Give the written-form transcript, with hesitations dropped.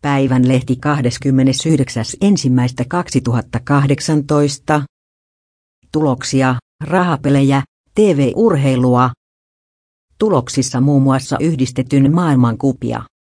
Päivän lehti 29.1.2018. Tuloksia, rahapelejä, TV-urheilua. Tuloksissa muun muassa yhdistetyn maailmankupia.